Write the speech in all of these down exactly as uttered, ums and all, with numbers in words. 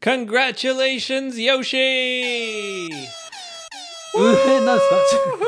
Congratulations, Yoshi! うえ、なんですか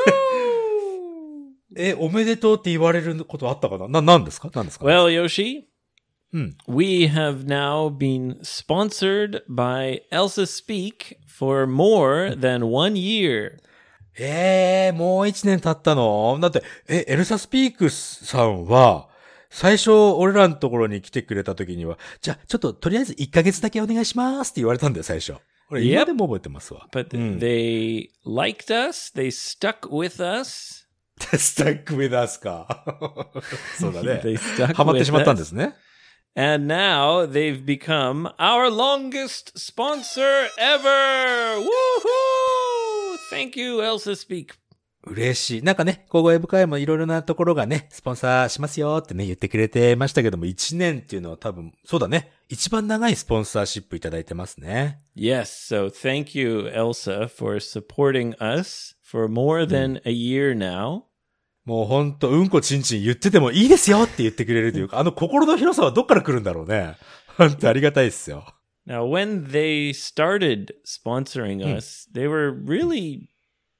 え、おめでとうって言われることあったかなな、なんですかなんですか Well, Yoshi, うん。 we have now been sponsored by Elsa Speak for more than one year. ええー、もう一年経ったのだって、え、エルサスピークスさんは、最初、俺らのところに来てくれた時には、じゃあ、ちょっと、とりあえずいっかげつだけお願いしますって言われたんだよ、最初。俺、今でも覚えてますわ。 But うん、 they liked us, they stuck with us. スタックウェダースか。そうだね。 They stuck ハマってしまったんで with すね。 And now they've become our longest sponsor ever! Woohoo! Thank you, Elsa Speak. 嬉しい。なんかね、高校英語会もいろいろなところがね、スポンサーしますよってね、言ってくれてましたけども、いちねんっていうのは多分、そうだね。一番長いスポンサーシップいただいてますね。 Yes, so thank you, Elsa, for supporting us for more than a year now. もうほんと、うんこちんちん言っててもいいですよって言ってくれるというか、あの心の広さはどっから来るんだろうね。ほんとありがたいですよ。 Now, when they started sponsoring us, they were really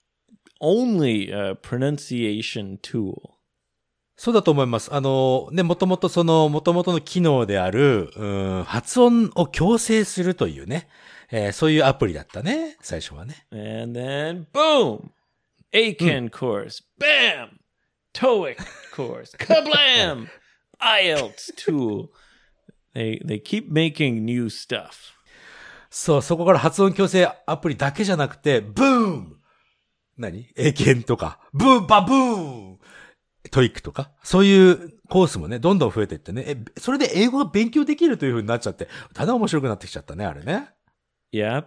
only a pronunciation tool. そうだと思います。あの、ね、もともとその、もともとの機能である、うん、発音を矯正するというね、えー、そういうアプリだったね、最初はね。 And then, boom! A C A N course. Bam! TOEIC course. Kablam! I E L T S tool. They, they keep making new stuff. そう、そこから発音矯正アプリだけじゃなくて、ブーム何英検とか、ブーバブーントイックとか、そういうコースもね、どんどん増えていってね、え、それで英語が勉強できるという風になっちゃって、ただ面白くなってきちゃったね、あれね。 Yeah.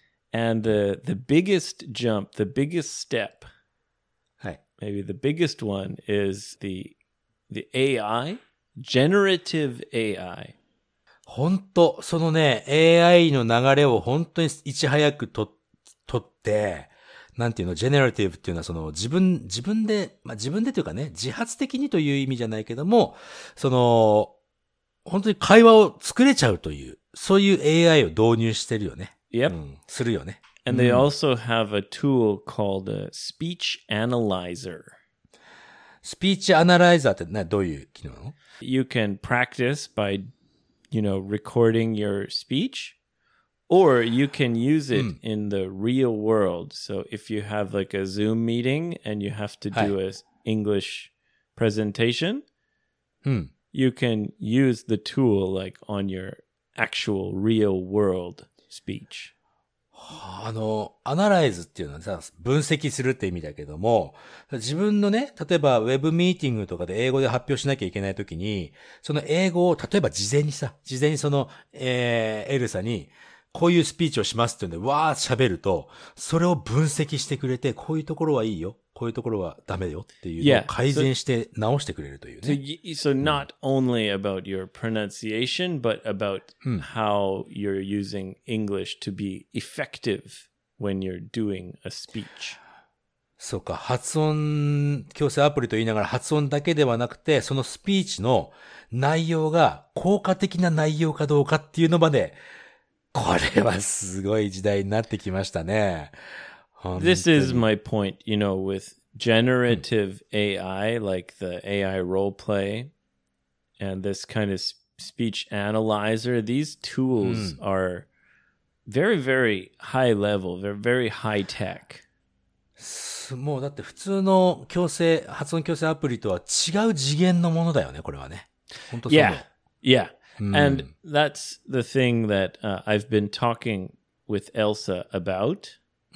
And the, the biggest jump, the biggest step, はい。 maybe the biggest one is the, the A I, generative A I. 本当そのね、エーアイ の流れを本当にいち早くと、とって、なんていうの、ジェネラティブっていうのはその自分、自分で、まあ、自分でというかね、自発的にという意味じゃないけども、その、本当に会話を作れちゃうという、そういう エーアイ を導入してるよね。 Yep. うん、するよね。 And they also have a tool called a speech analyzer. スピーチアナライザーってな、どういう機能なの？ You can practice by, you know, recording your speech, or you can use it in the real world. So if you have like a Zoom meeting and you have to do an English presentation, うん。 you can use the tool like on your actual real world speech. あの、アナライズっていうのはさ、分析するって意味だけども、自分のね、例えばウェブミーティングとかで英語で発表しなきゃいけないときに、その英語を、例えば事前にさ、事前にその、えー、エルサに、こういうスピーチをしますっていうんで、わー喋ると、それを分析してくれて、こういうところはいいよ、こういうところはダメよっていうのを改善して直してくれるという So, ね。 y- so not only about your pronunciation, but about how you're using English to be effective when you're doing a speech. そうか、発音矯正アプリと言いながら発音だけではなくて、そのスピーチの内容が効果的な内容かどうかっていうのまで、これはすごい時代になってきましたね。 This is my point, you know, with generative A I, like the A I role play and this kind of speech analyzer, these tools are very, very high level. They're very high tech. もうだって普通の矯正、発音矯正アプリとは違う次元のものだよね、これはね。本当そう。 Yeah, yeah. And that's the thing that uh, I've been talking with Elsa about.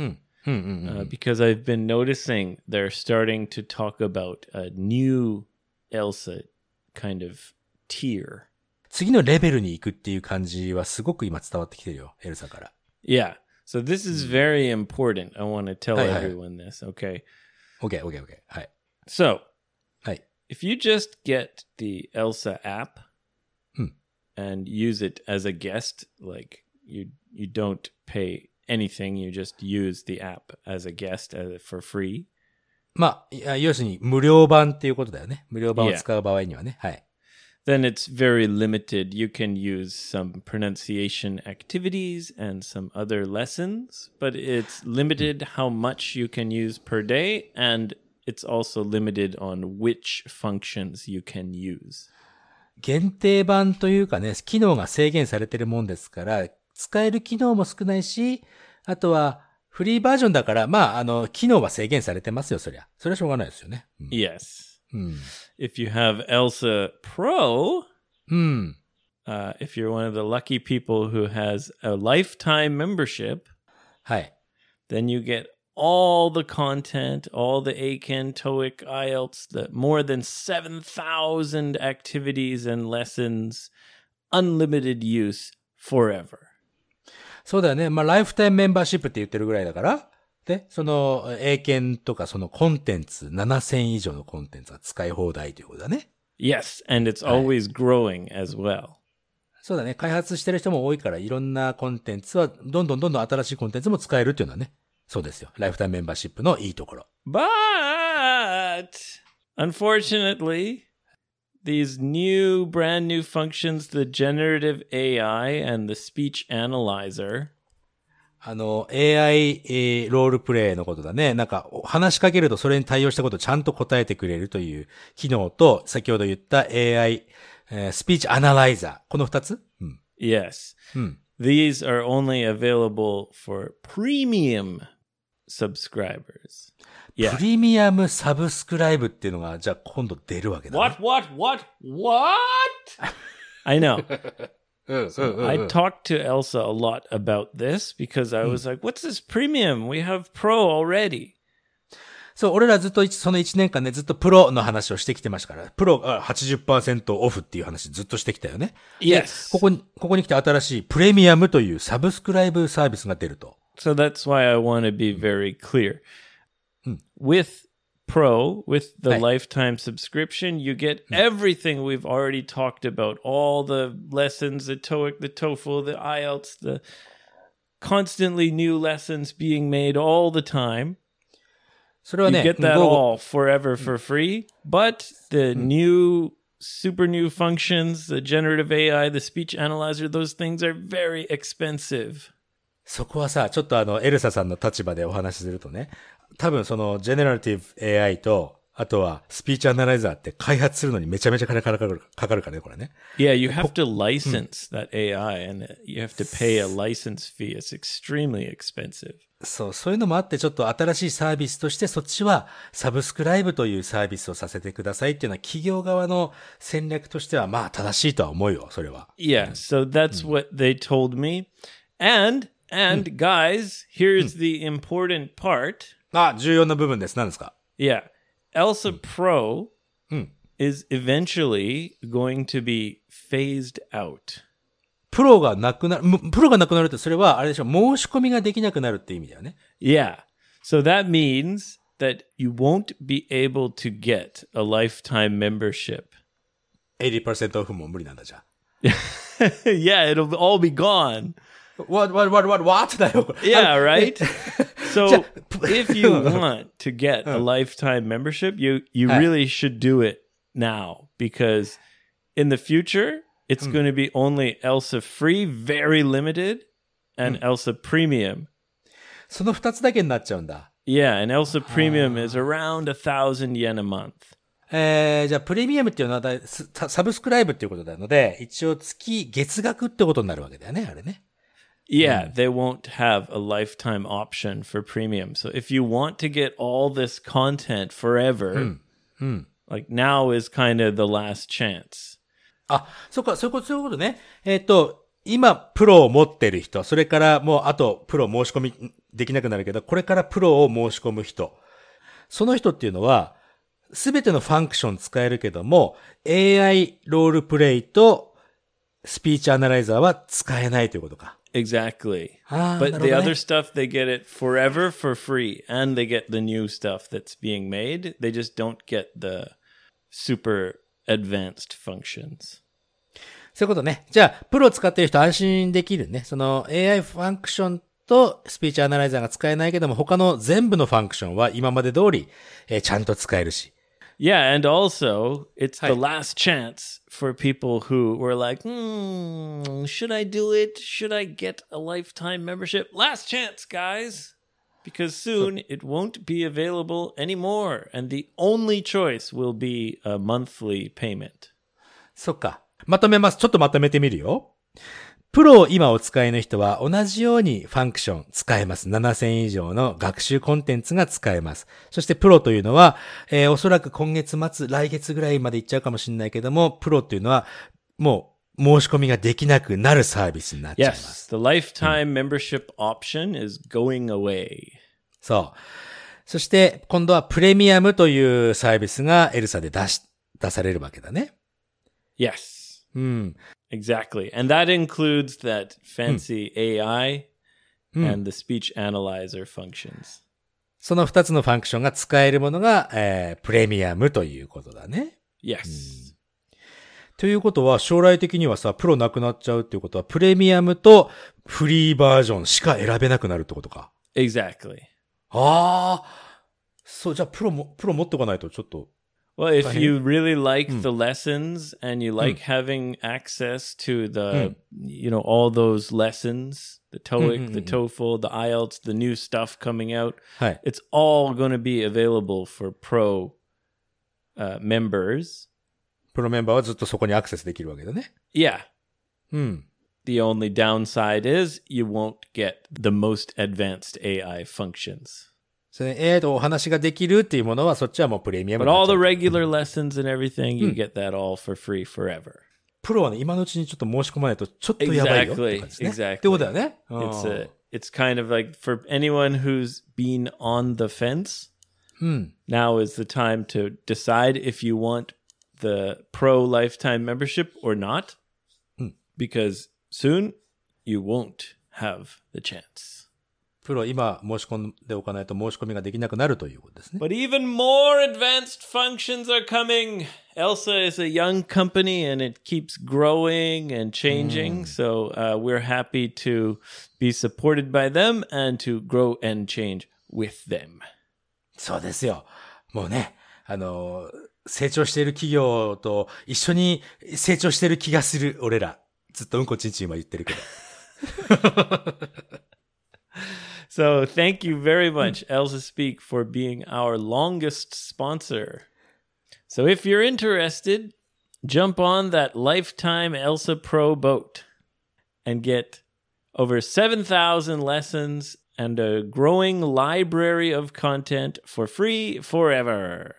Uh, because I've been noticing they're starting to talk about a new Elsa kind of tier. 次のレベルに行くっていう感じはすごく今伝わってきてるよ、エルサから。 Yeah. So this is very important. I want to tell everyone this, okay? Okay, okay, okay. はい。 So, はい。 if you just get the Elsa app and use it as a guest, like you you don't pay anything, you just use the app as a guest as, for free. まあ、要するに無料版っていうことだよね。無料版を使う場合にはね。はい。 then it's very limited. You can use some pronunciation activities and some other lessons, but it's limited how much you can use per day, and it's also limited on which functions you can use. 限定版というかね、機能が制限されてるもんですから、使える機能も少ないし、あとはフリーバージョンだから、まあ、あの、機能は制限されてますよ、そりゃ。それはしょうがないですよね。うん、 Yes. うん、 If you have Elsa Pro, うん、 uh, if you're one of the lucky people who has a lifetime membership, はい。 then you get all the content, all the Eiken, TOEIC, I E L T S, the more than seven thousand activities and lessons, unlimited use forever. そうだよね。まあ、ライフタイムメンバーシップって言ってるぐらいだから、で、その、英検とかそのコンテンツ、ななせん以上のコンテンツが使い放題ということだね。 Yes, and it's always growing as well. そうだね。開発してる人も多いから、いろんなコンテンツは、どんどんどんどん新しいコンテンツも使えるっていうのはね。そうですよ。ライフタイムメンバーシップのいいところ。 But, unfortunately, these new, brand new functions, the generative A I and the speech analyzer. あの、エーアイ、えー、ロールプレイのことだね。なんか、話しかけるとそれに対応したことをちゃんと答えてくれるという機能と、先ほど言った エーアイ、えー、スピーチアナライザー。この二つ、うん、 Yes. うん。 These are only available for premium subscribers. Yeah. プレミアムサブスクライブっていうのが、じゃあ今度出るわけだね。 What, what, what, what? I know. So I talked to Elsa a lot about this because I was like, what's this premium? We have pro already. そう、俺らずっとそのいちねんかんね、ずっとプロの話をしてきてましたから、プロが はちじゅっパーセント オフっていう話ずっとしてきたよね。 Yes. ここに、ここに来て新しいプレミアムというサブスクライブサービスが出ると。 So that's why I want to be very clear. With Pro, with the lifetime subscription, you get everything we've already talked about. All the lessons, the TOEIC, the TOEFL, the I E L T S, the constantly new lessons being made all the time. それはね、 you get that all forever for free. But the new, super new functions, the generative A I, the speech analyzer, those things are very expensive. そこはさ、ちょっとあの、エルサさんの立場でお話しするとね、多分その、ジェネラティブ エーアイ と、あとは、スピーチアナライザーって開発するのにめちゃめちゃ金かかる、かかるからね、これね。 Yeah, you have to license thatエーアイand you have to pay a license fee. It's extremely expensive. そう、そういうのもあってちょっと新しいサービスとしてそっちはサブスクライブというサービスをさせてくださいっていうのは企業側の戦略としてはまあ正しいとは思うよ、それは。 Yeah, so that's what they told me. And, and guys, here's the important part. あ、重要な部分です。何ですか？ Yeah, Elsa Pro is eventually going to be phased out. プロがなくなる、プロがなくなるってそれはあれでしょ、申し込みができなくなるって意味だよね。 Yeah. So that means that you won't be able to get a lifetime membership. エイティーパーセント オフも無理なんだじゃ。 Yeah, it'll all be gone. What, what, what, what, what? だよ。 Yeah, right? So if you want to get a lifetime membership, you, you really should do it now because in the future, it's going to be only Elsa Free, very limited, and Elsa Premium. その二つだけになっちゃうんだ。 Yeah, and Elsa Premium is around a thousand yen a month. えー、じゃあプレミアムっていうのはだサブスクライブっていうことなので、一応月月額ってことになるわけだよね、あれね。 Yeah, they won't have a lifetime option for premium. So if you want to get all this content forever, like now is kind of the last chance. あ、そうか、そういうこと、そういうことね。えっと、今、プロを持ってる人、それからもう、あと、プロ申し込みできなくなるけど、これからプロを申し込む人。その人っていうのは、すべてのファンクション使えるけども、エーアイ ロールプレイとスピーチアナライザーは使えないということか。 Exactly. Ah, but the other stuff, they get it forever for free. And they get the new stuff that's being made. They just don't get the super advanced functions. そういうことね。じゃあ、プロを使っている人安心できるね。その エーアイ ファンクションとスピーチアナライザーが使えないけども、他の全部のファンクションは今まで通り、えー、ちゃんと使えるし。 Yeah, and also it's the はい。 last chance for people who were like, hmm, should I do it? Should I get a lifetime membership? Last chance, guys. Because soon it won't be available anymore. And the only choice will be a monthly payment. そっか。まとめます。ちょっとまとめてみるよ。プロを今お使いの人は同じようにファンクション使えます。ななせん以上の学習コンテンツが使えます。そしてプロというのは、えー、おそらく今月末、来月ぐらいまで行っちゃうかもしれないけども、プロというのはもう申し込みができなくなるサービスになっちゃいます。 Yes, the lifetime membership option is going away. そう。そして今度はプレミアムというサービスがエルサで出し、出されるわけだね。 Yes. うん。 Exactly. And that includes that fancy A I うん、 and the speech analyzer functions. その二つのファンクションが使えるものが、えー、プレミアムということだね。 Yes.、 うん、ということは将来的にはさ、プロなくなっちゃうっていうことはプレミアムとフリーバージョンしか選べなくなるってことか。 Exactly. ああ、そう、じゃあプロも、プロ持っておかないとちょっと。 Well, if you really like the lessons and you like having access to the, you know, all those lessons, the TOEIC, the TOEFL, the I E L T S, the new stuff coming out, it's all going to be available for pro uh, members. プロメンバーはずっとそこにアクセスできるわけだね。 Yeah. うん。 The only downside is you won't get the most advanced A I functions. それ エーアイ とお話ができるっていうものはそっちはもうプレミアム But になっ all ちゃ the う。 regular lessons and everything, you get that all for free forever. プロはね、今のうちにちょっと申し込まないとちょっとやばいよって感じですね。 Exactly. ってことだよね。 It's a, it's kind of like for anyone who's been on the fence, うん。 now is the time to decide if you want the pro lifetime membership or not, うん。 because soon you won't have the chance. プロ今申し込んでおかないと申し込みができなくなるということですね。 But even more advanced functions are coming. Elsa is a young company and it keeps growing and changing. So uh, we're happy to be supported by them and to grow and change with them. そうですよ。もうね、あの、成長している企業と一緒に成長している気がする俺ら。ずっとうんこちんちんは言ってるけど。 So thank you very much, Elsa Speak, for being our longest sponsor. So if you're interested, jump on that lifetime Elsa Pro boat and get over seven thousand lessons and a growing library of content for free forever.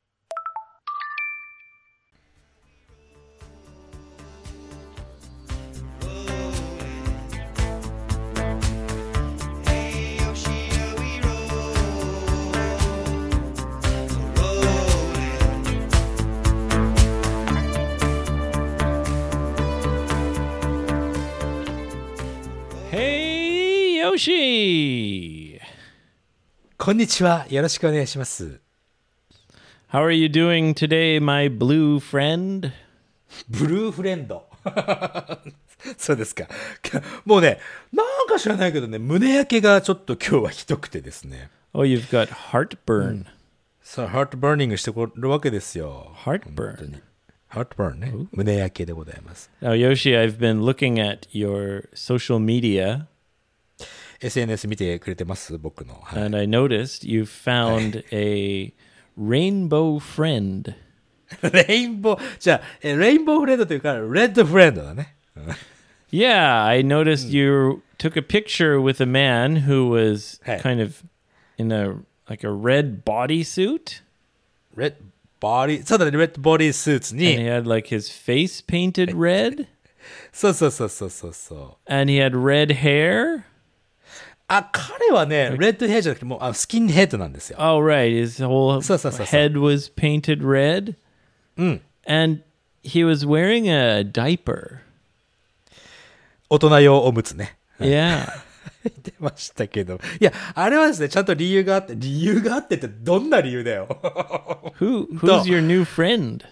Hey, Yoshi! こんにちは。よろしくお願いします。 How are you doing today, my blue friend? ブルーフレンド。そうですか。もうね、なんか知らないけどね、胸焼けがちょっと今日はひどくてですね。 Oh, you've got heartburn. そう、ハートバーニングしてくるわけですよ。 Heartburn. ハートバーンね。胸焼けでございます。 Now, Yoshi, I've been looking at your social media. エスエヌエス 見てくれてます僕の。はい、 And I noticed you found a rainbow friend. レインボー、じゃあ、レインボーフレンドというか、レッドフレンドだね。 Yeah, I noticed you took a picture with a man who was Hey. kind of in a like a red bodysuit. レッドボディ、そうだね、レッドボディスーツ And he に、 had like his face painted red. そうそうそうそうそうそう。 And he had red hair. あ、彼はね、レッドヘアじゃなくて、もうあスキンヘッドなんですよ。 Oh, right. His whole そうそうそうそう。 head was painted red. うん。 And he was wearing a diaper. 大人用おむつね。 Yeah. 出ましたけど。いや、あれはですね、ちゃんと理由があって、理由があってってどんな理由だよ。 Who who's your new friend?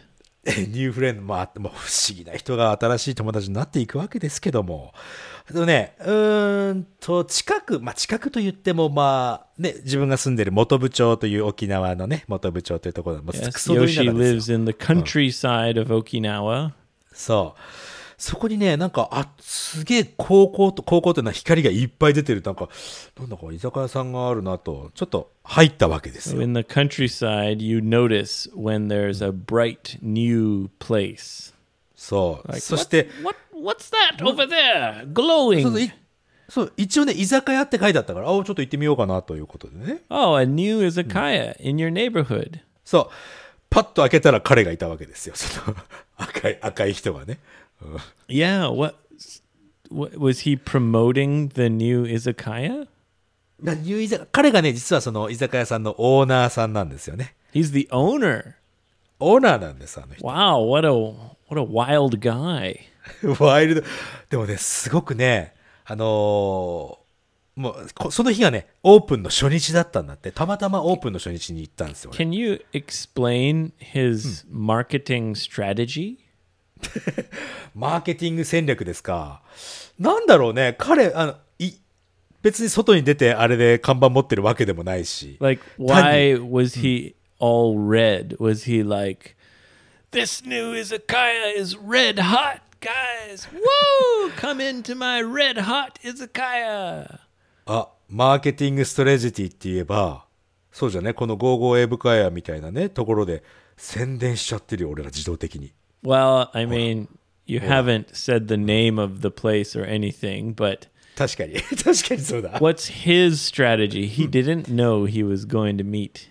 ニューフレンド、まあ、もう不思議な人が新しい友達になっていくわけですけども。でもね、うーんと、近く、まあ近くと言っても、まあ、ね、自分が住んでる本部町という沖縄のね、本部町というところで、もう Yes, クソど田舎 Yoshi ですよ。 lives in the countryside of Okinawa. そう。そこにね、なんか、あ、すげえ高校と、高校っていうのは光がいっぱい出てる、なんか、なんだか居酒屋さんがあるなと、ちょっと入ったわけです So よ。 in the countryside, you notice when there's a bright new place. そう。 Like, そして、 what, what, what's that over there? そうそう Glowing. いそう、一応ね、居酒屋って書いてあったから、あ、ちょっと行ってみようかなということでね。 Oh, a new izakaya in your neighborhood. そう。パッと開けたら彼がいたわけですよ。その赤い、赤い人がね。 Yeah, what, what was he promoting the new izakaya? なニュー居酒彼がね、実はその居酒屋さんのオーナーさんなんですよね。 He's the owner. オーナーなんです、あの人。 Wow, what a what a wild guy. ワイルド。でもね、すごくね、あのーもうこ、その日がね、オープンの初日だったんだって、たまたまオープンの初日に行ったんですよ。俺 Can you explain his marketing strategy? マーケティング戦略ですか。なんだろうね、彼、あの、い、別に外に出てあれで看板持ってるわけでもないし。 Like, why was he all red? Was he like, this new izakaya is red hot, guys? Woo! Come into my red hot izakaya. あ、マーケティングストレジティって言えば、そうじゃね、このゴーゴーエブカヤみたいなね、ところで宣伝しちゃってるよ、俺ら自動的に。 Well, I mean, you haven't said the name of the place or anything, but 確かに、確かにそうだ。 what's his strategy? He didn't know he was going to meet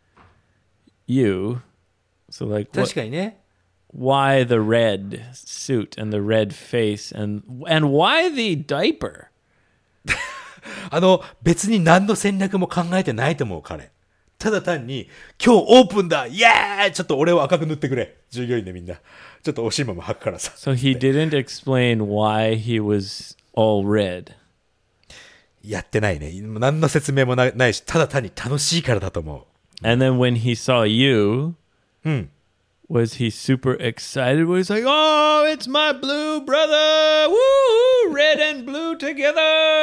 you. So, like, 確 what, かにね。 why the red suit and the red face and and why the diaper? あの、別に何の戦略も考えてないと思う、彼。ただ単に、今日オープンだイエーイちょっと俺を赤く塗ってくれ。従業員でみんな。ちょっとおしんまも履くからさ。 So he didn't explain why he was all red. やってないね。何の説明もなないし、ただ単に楽しいからだと思 And then when he saw you, う。うん。 was he super excited? Was he like, oh, it's my blue brother. Woo! Red and blue together.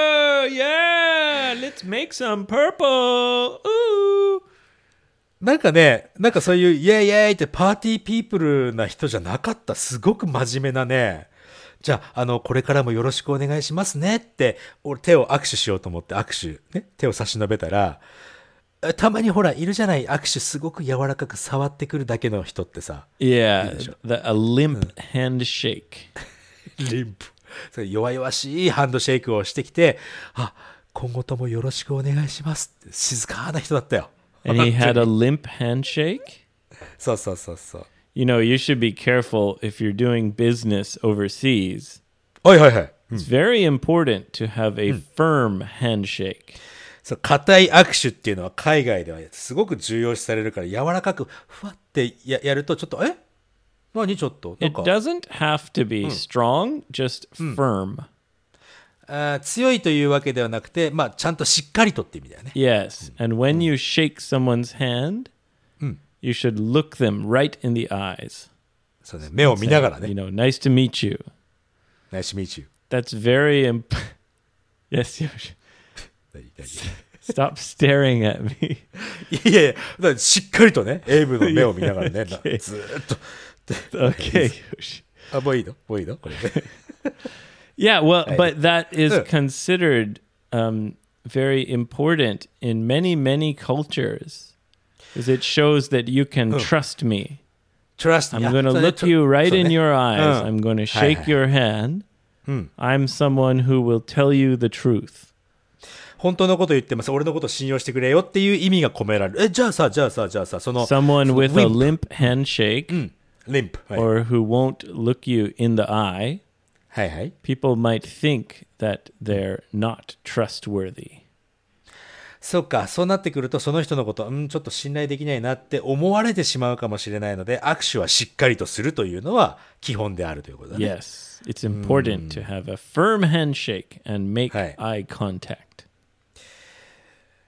Yeah, let's make some purple. Ooh. なんかね、なんかそういうイエイイエイってパーティーピープルな人じゃなかった。すごく真面目なね。じゃあ、あの、これからもよろしくお願いしますねって、俺手を握手しようと思って握手、ね、手を差し伸べたら、たまにほら、いるじゃない、握手すごく柔らかく触ってくるだけの人ってさ。 Yeah, the, a limp handshake. リンプ。それ弱々しいハンドシェイクをしてきて、あ、今後ともよろしくお願いしますって静かな人だったよ。 And he had a limp handshake? そうそうそうそう。 You know, you should be careful if you're doing business overseas. はいはいはい。 It's very important to have a firm handshake. そう、硬い握手っていうのは海外ではすごく重要視されるから、柔らかくふわってややるとちょっと、え何ちょっとなん It か doesn't have to be strong, just firm. あー強いというわけではなくて、まあちゃんとしっかりとって意味だよね。 Yes. And when you shake someone's hand, you should look them right in the eyes. そうね、目を見ながら You ね。 know, nice to meet you. Nice to meet you. That's very imp- Yes, Yoshi. 何何 Stop staring at me. いやいや、だからしっかりとね、エイブの目を見ながらね、なず Okay. ーっと。 Okay, Yoshi. あ、もういいのもういいのこれね。 Yeah, well, Hey. but that is Yeah. considered um, very important in many, many cultures, because it shows that you can trust me. Trust me. I'm going to あそうね look you right そうね in your eyes. うん I'm going to はいは shake い your hand. I'm someone who will tell you the truth. 本当のこと言ってます。俺のこと信用してくれよっていう意味が込められる。え、じゃあさ、じゃあさ、じゃあさ、その、 Someone その with a wimp limp handshake リンプ。はい、 or who won't look you in the eye, はいはい。 people might think that they're not trustworthy. そうか、そうなってくると、その人のこと、うん、ちょっと信頼できないなって思われてしまうかもしれないので、握手はしっかりとするというのは基本であるということだね。 Yes, it's important to have a firm handshake and make Hey. eye contact.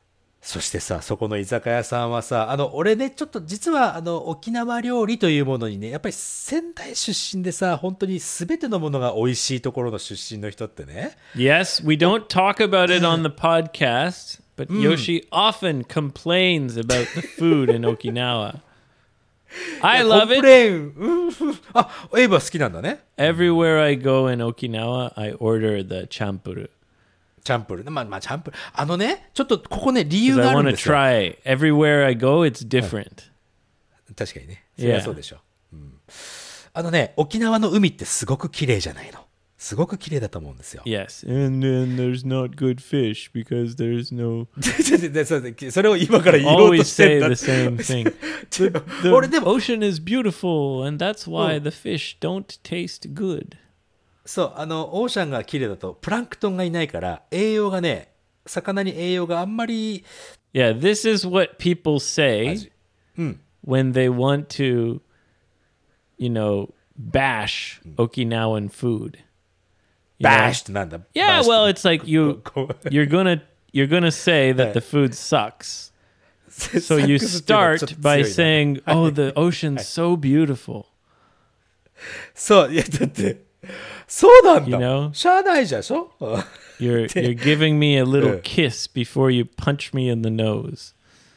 そしてさ、そこの居酒屋さんはさ、あの、俺ね、ちょっと実は、あの、沖縄料理というものにね、やっぱり仙台出身でさ、本当に全てのものが美味しいところの出身の人ってね。 Yes, we don't talk about it on the podcast, but Yoshi often complains about the food in Okinawa. I コ love ンプ it. レーン。うんあ、エイブは好きなんだね。 Everywhere I go in Okinawa, I order the champuru. チャンプルー。まあ、まあ、チャンプルー。あのね、ちょっとここね、理由 Because が I あるん want to ですよ。 try. Everywhere I go, it's different. 確かにね。それは Yeah. そうでしょ。うん。あのね、沖縄の海ってすごく綺麗じゃないの。すごく綺麗だと思うんですよ。 Yes, and then there's not good fish because there's no. でそそれを今から言おうと Always してん say だ the same thing. The, the 俺でも ocean is beautiful, and that's why the fish don't taste good. そう、あの、オーシャンが綺麗だと、プランクトンがいないから、栄養がね、魚に栄養があんまり、 Yeah, this is what people say 味。うん。 when they want to, you know, bash Okinawan food. You バ know? ーシってなんだ Yeah, バーシ well, it's like you こう you're gonna you're gonna say that Yeah. the food sucks. サ So ッ you クスっていうのはちょっ start と by 強いな saying, "Oh, the ocean's so beautiful." そう、いや、だって、そうなん You だ。 know? しゃあないじゃんしょ You're you're giving me a little Yeah. kiss before you punch me in the nose.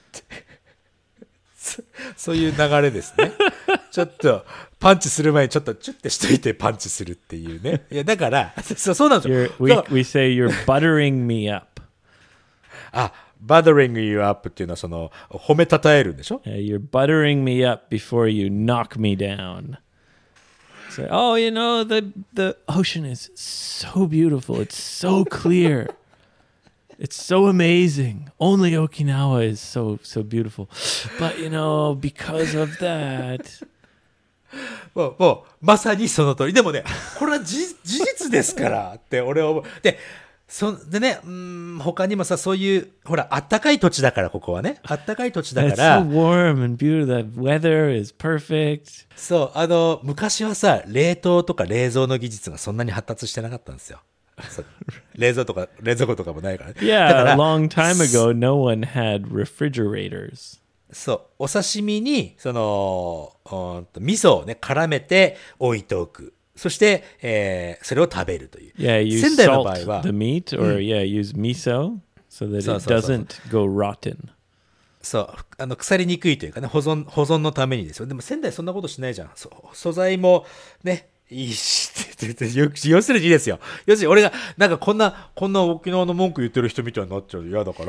そういう流れですね。ちょっと、パンチする前にちょっとチュッてしといてパンチするっていうね。いや、だから、そうそうなんですよ You're,。we だから we say you're buttering me up. あ、bothering you up っていうのはその、褒めたたえるんでしょ Yeah, you're buttering me up before you knock me down. Say, oh, you know, the the ocean is so beautiful. It's so clear. It's so amazing. Only Okinawa is so so beautiful. But you know, because of that. もう、もう、まさにその通り。でもね、これは事事実ですからって俺は思う。で、そでね、うーん、他にもさ、そういう、ほら、あったかい土地だから、ここはね。あったかい土地だ It's から so、warm and beautiful. The weather is perfect. そう、あの、昔はさ、冷凍とか冷蔵の技術がそんなに発達してなかったんですよ。そう冷蔵とか、冷蔵庫とかもないからね。だか Yeah, ら a long time ago, no one had refrigerators. そう、お刺身に、その、うーんと味噌をね、絡めて置いておく。そして、えー、それを食べるという。 Yeah, you 仙台の場合 salt は the、meat, or yeah, use miso so that So, it so, so, so. doesn't go rotten. そう、あの、腐りにくいというかね、保存、保存のためにですよ。でも仙台そんなことしないじゃん。そう素材もね、いいし、って言って、要するにいいですよ。要するに俺が、なんかこんな、こんな沖縄の文句言ってる人みたいになっちゃう嫌だから、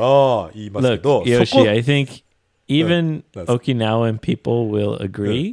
言いますけ Look, ど、そ Yoshi, こ、 I think even that's- Okinawan people will agree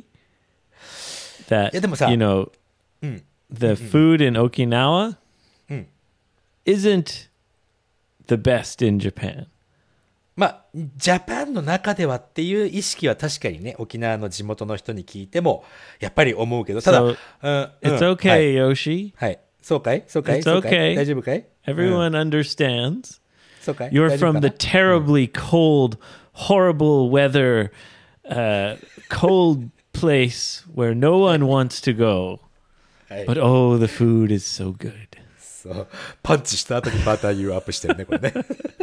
that, いやでもさ、 you know, うん。 the food in Okinawa うん。 isn't the best in Japan. まあ、ジャパンの中ではっていう意識は確かにね、沖縄の地元の人に聞いても、やっぱり思うけど、ただ、 So うん、 it's うん okay, はい Yoshi. はい。そうかいそうかい It's そうかい okay. 大丈夫かい Everyone understands. そうかい You're 大丈夫 from か the な terribly cold, horrible weather, uh, cold place where no one wants to go. はい But oh, the food is so good. そう。パンチした後にバターユーアップしてるね、これね。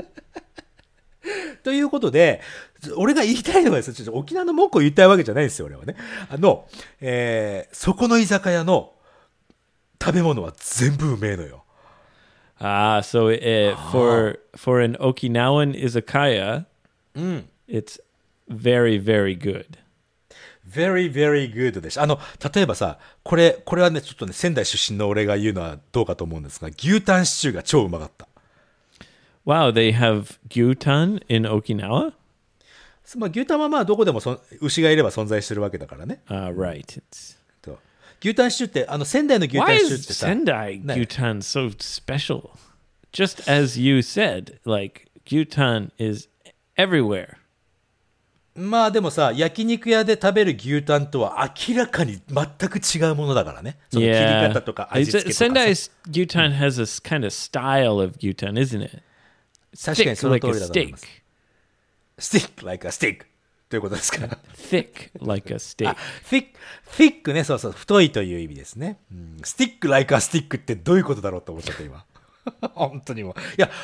ということで、俺が言いたいのはですね、ちょっと沖縄の文句を言いたいわけじゃないんですよ、俺はね。あの、えー、そこの居酒屋の食べ物は全部うめえのよ。 Ah, so uh, for for an Okinawan izakaya, it's very very good. very, very good でした。あの、例えばさ、これ、これはね、ちょっとね、仙台出身の俺が言うのはどうかと思うんですが、牛タンシチューが超うまかった。 Wow, they have gyutan in Okinawa? まあ、牛タンはまあ、どこでもそん牛がいれば存在してるわけだからね。 Uh, right. It's と牛タンシチューって、あの、仙台の牛タ why ンシチュー is ってさ、 Sendai No. gyutan so special? Just as you said, like gyutan is everywhere. まあでもさ、焼肉屋で食べる牛タンとは明らかに全く違うものだからね。その切り Yeah. 方とか It's- 味付けとかさ。 Sendai's gyutan has a s- kind of style of gyutan, isn't it? 確かに Thick その like 通 a りだと思い steak. ます。stick like a stick ということですか。 Thick like a steak. thick, thick ね、そうそう、太いという意味ですね。うん、stick like a stick ってどういうことだろうと思っちゃった今。本当にもう。いや、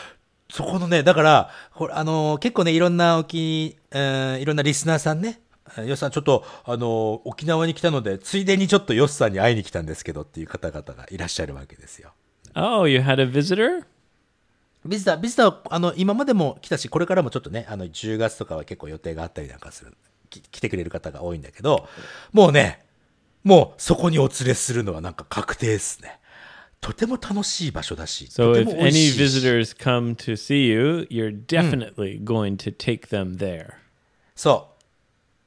そこのね、だから、これあのー結構ね、いろんな沖、えーいろんなリスナーさんね、えーヨッさんちょっと、あのー沖縄に来たので、ついでにちょっとヨッさんに会いに来たんですけどっていう方々がいらっしゃるわけですよ。 Oh, you had a visitor? ビジター、ビジターは、あの、今までも来たし、これからもちょっとね、あの、じゅうがつとかは結構予定があったりなんかする、き来てくれる方が多いんだけど、もうね、もうそこにお連れするのはなんか確定ですね。とても楽しい場所だし、 So とて if も美味 any しいし。 visitors come to see you, you're definitely going to take them there. そう。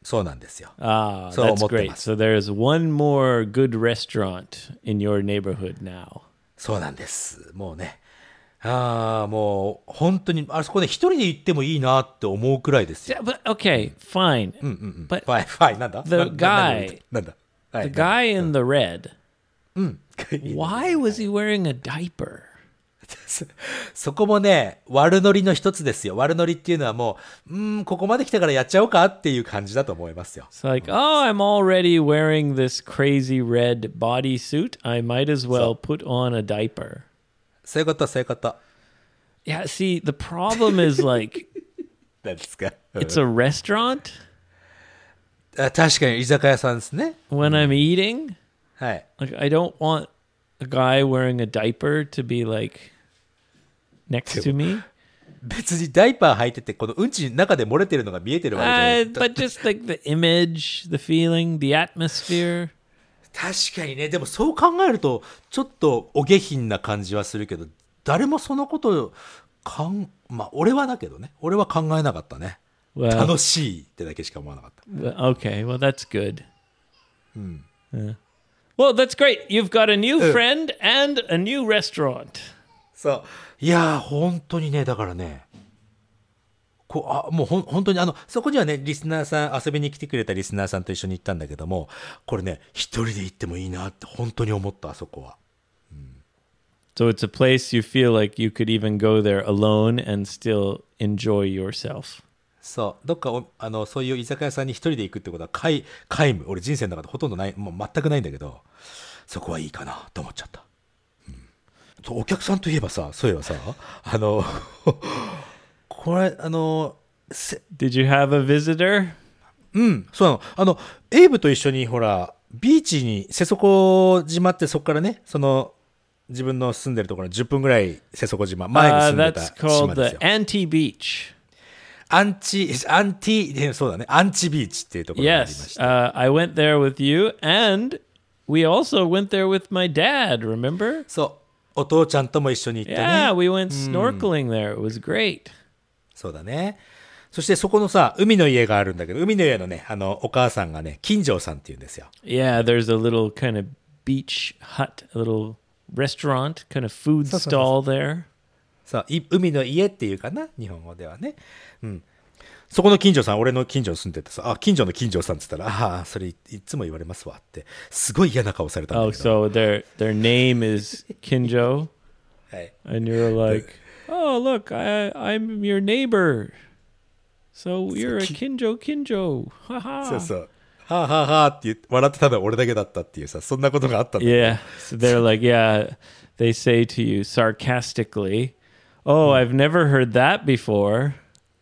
そうなんですよ。 Ah, そう that's 思って great. ます。 So there's one more good restaurant in your neighborhood now. そうなんです。もうね。ああ、もう、本当に、あそこね、一人で行ってもいいなって思うくらいですよ。 Yeah, but okay, fine. うんうんうん。 But ファイ、ファイ、なんだ the なななんだ guy- なんだは the い、 guy in the red, うん。 why was he wearing a diaper? そそこもね、悪ノリの一つですよ。悪ノリっていうのはもう、うーん、ここまで来たからやっちゃおうかっていう感じだと思いますよ。 It's like, oh, I'm already wearing this crazy red bodysuit. I might as well put on a diaper. そういうこと、そういうこと。 Yeah, see, the problem is like, なんですか。 it's a restaurant あ確かに居酒屋さんですね。 when I'm eating. はい。 Like, I don't want a guy wearing a diaper to be like next to me. 別にダイパー履いてて、このうんちの中で漏れてるのが見えてるわけじゃない Uh, but just like the image, the feeling, the atmosphere. 確かにね、でもそう考えると、ちょっとお下品な感じはするけど、誰もそのことをかん、まあ、俺はだけどね、俺は考えなかったね。 Well, 楽しいってだけしか思わなかった。 well, okay, well, that's good. Yeah. Well, that's great. You've got a new friend and a new restaurant. そう。いやー、本当にね、だからね、こう、あ、もうほん、本当にあの、そこにはね、リスナーさん、遊びに来てくれたリスナーさんと一緒に行ったんだけども、これね、一人で行ってもいいなって本当に思った、あそこは。 So it's a place you feel like you could even go there alone and still enjoy yourself. そう。どっかお、あの、そういう居酒屋さんに一人で行くってことは、皆、皆無。俺人生の中でほとんどない、もう全くないんだけど、そこはいいかなと思っちゃった。うん。そうお客さんといえばさ、そういえばさ、あの、これ、あの、せ Did you have a visitor? うん、そうなの。あの、エイブと一緒に、ほら、ビーチに、瀬底島ってそこからね、その、自分の住んでるところのじゅっぷんぐらい瀬底島、前に Uh, 住んでた that's called 島です the よ。 Anti Beach. アンチ、アンティ、でそうだね、アンチビーチっていうところがありまし Yes, た。 uh, I went there with you, and we also went there with my dad, remember? そう、お父ちゃんとも一緒に行ったね。 Yeah, we went snorkeling there. It was great. そうだね。そしてそこのさ、海の家があるんだけど、海の家のね、あの、お母さんがね、金城さんって言うんですよ。 Yeah, there's a little kind of beach hut, a little restaurant, kind of food So, so, so, stall there. そう、い海の家っていうかな、日本語ではね。うん。そこの近所さん、俺の近所に住んでてさ、あ、近所の近所さんって言ったら、ああ、それいいつも言われますわって、すごい嫌な顔されたんだ Oh, けど。 so their their name is Kinjo, はい。 and you're like, oh, look, I I'm your neighbor. So you're a Kinjo Kinjo. そう Haha. そう。はあはあはあって言って笑ってたのは俺だけだったっていうさ、そんなことがあったんだけど。 Yeah. So they're like, yeah, they say to you sarcastically, oh, I've never heard that before.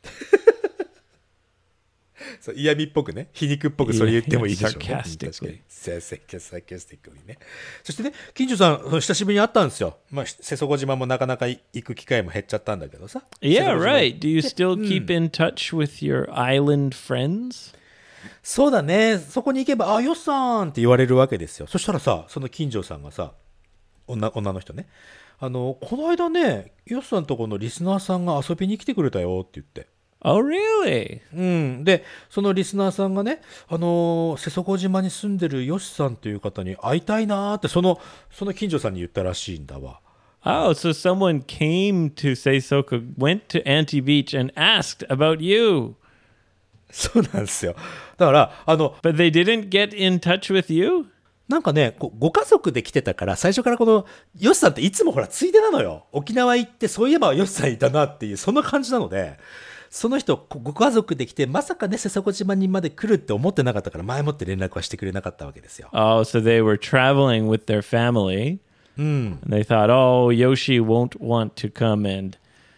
そう嫌味っぽくね、皮肉っぽくそれ言ってもいいでしょうね。 Yeah, 確か sarcastically. に。サーサーキャスティックにね。そしてね、近所さん、久しぶりに会ったんですよ。まあ、瀬底島もなかなか行く機会も減っちゃったんだけどさ。 Yeah, 瀬底島 right. Do you still keep in touch with your island friends? そうだね。そこに行けば、あ、よっさんって言われるわけですよ。そしたらさ、その近所さんがさ、女、女の人ね。あの、この間ね、よっさんとこのリスナーさんが遊びに来てくれたよって言って。 Oh, really? うん。で、そのリスナーさんがね、あのー瀬底島に住んでるヨシさんという方に会いたいなーって、その、その近所さんに言ったらしいんだわ。 Oh, so someone came to Seisoka, went to Anti Beach and asked about you, そうなんですよ。だから、あの、 but they didn't get in touch with you? なんかね、こご家族で来てたから、最初からこの、ヨシさんっていつもほら、ついでなのよ。沖縄行って、そういえばヨシさんいたなっていう、そんな感じなので、その人、こご家族で来て、まさかね、瀬底島にまで来るって思ってなかったから、前もって連絡はしてくれなかったわけですよ。 Oh, so they were traveling with their family. And they thought, oh, Yoshi won't want to come and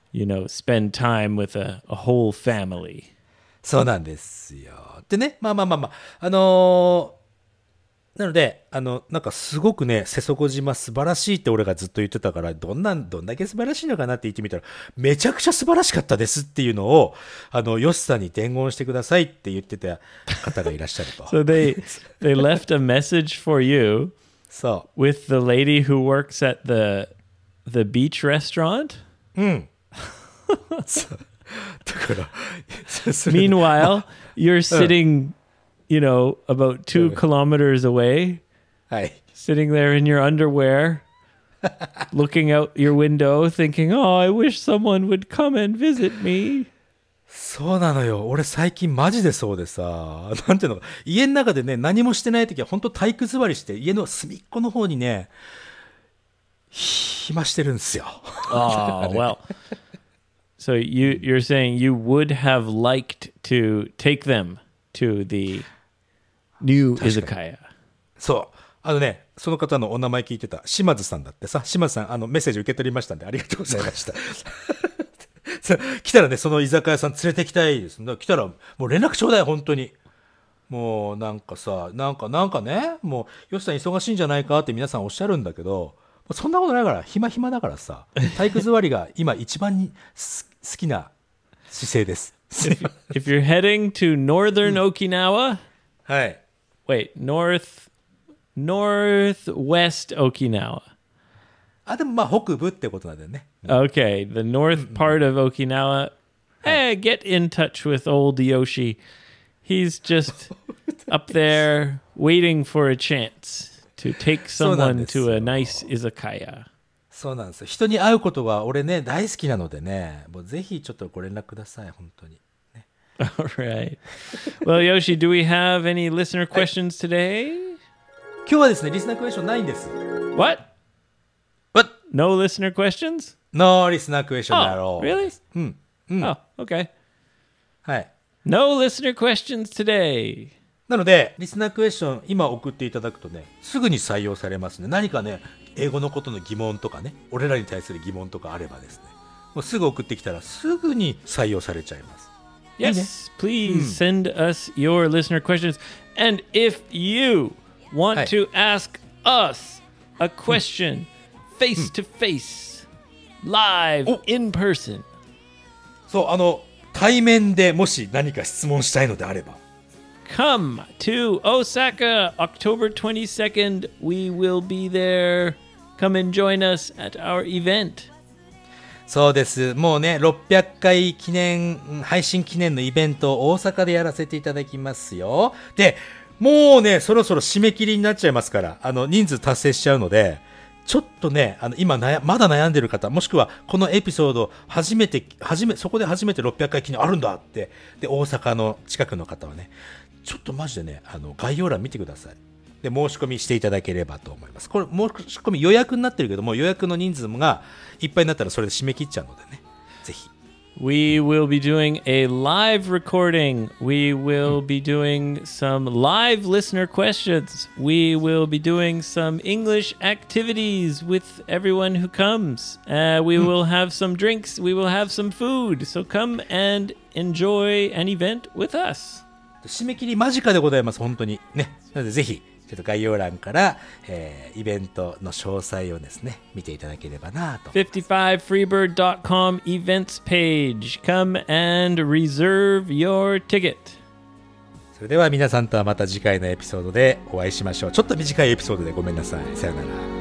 you know, spend time with a, a whole family. そうなんですよ。でね、まあまあまあまあ、あのーなので、あの、なんかすごくね、瀬底島素晴らしいって俺がずっと言ってたから、どんな、どんだけ素晴らしいのかなって言ってみたら、めちゃくちゃ素晴らしかったですっていうのを、あの、ヨシさんに伝言してくださいって言ってた方がいらっしゃると。 So they they left a message for you そ with the lady who works at the the beach restaurant. う。うん。そうだから、それ Meanwhile, you're sitting, you know, about two kilometers away, はい。 sitting there in your underwear, looking out your window, thinking, "Oh, I wish someone would come and visit me." そうなのよ。俺最近マジでそうでさ、なんていうのか、家の中でね、何もしてない時は本当体育座りして、家の隅っこの方にね、暇してるんですよ。 Oh, well. So you you're saying you would have liked to take them to the new izakaya. そう。あのね、その方のお名前聞いてた、島津さんだってさ、島津さん、あの、メッセージ受け取りましたんで、ありがとうございました。さ来たらね、その居酒屋さん連れてきたいです。だから来たら、もう連絡ちょうだい、本当に。もう、なんかさ、なんか、なんかね、もう、よしさん忙しいんじゃないかって皆さんおっしゃるんだけど、そんなことないから、暇暇だからさ、体育座りが今一番にす好きな姿勢です。 If you're heading to northern Okinawa, はい。 wait, north northwest Okinawa. あ、でもまあ、北部ってことなんだよね。 Okay, the north part of Okinawa. Hey, get in touch with old Yoshi. He's just up there waiting for a chance to take someone to a nice izakaya. そうなんですよ。人に会うことが俺ね、大好きなのでね、もうぜひちょっとご連絡ください、本当に。 All right. Well, Yoshi, do we have any listener questions today? 今日はですね、リスナークエスチョンないんです。 What? What? No listener questions? ノーリスナークエスチョンだ Oh, ろう。 really? うん。うん。 Oh, okay. はい。 No listener questions today. なので、リスナークエスチョン今送っていただくとね、すぐに採用されますね。何かね、英語のことの疑問とかね、俺らに対する疑問とかあればですね、もうすぐ送ってきたらすぐに採用されちゃいます。 Yes, please send us your listener questions. And if you want to ask us a question face to face, live, in person. そう、あの、対面でもし何か質問したいのであれば。 Come to Osaka, October twenty-second. We will be there. Come and join us at our event. そうです。もうね、ろっぴゃっかい記念、配信記念のイベントを大阪でやらせていただきますよ。で、もうね、そろそろ締め切りになっちゃいますから、あの、人数達成しちゃうので、ちょっとね、あの、今悩、まだ悩んでる方、もしくはこのエピソード、初めて、初め、そこで初めてろっぴゃっかい記念あるんだって、で、大阪の近くの方はね、ちょっとマジでね、あの、概要欄見てください。で、申し込みしていただければと思います。これ、申し込み予約になってるけども、予約の人数がいっぱいになったらそれで締め切っちゃうのでね、ぜひ。 We will be doing a live recording. We will be doing some live listener questions. We will be doing some English activities with everyone who comes. Uh, we will have some drinks. We will have some food. So come and enjoy an event with us. 締め切り間近でございます、本当に。ね。なのでぜひ、ちょっと概要欄から、えー、イベントの詳細をですね、見ていただければなと。 フィフティファイフリーバード dot com events page. Come and reserve your ticket. それでは皆さんとはまた次回のエピソードでお会いしましょう。ちょっと短いエピソードでごめんなさい。さよなら。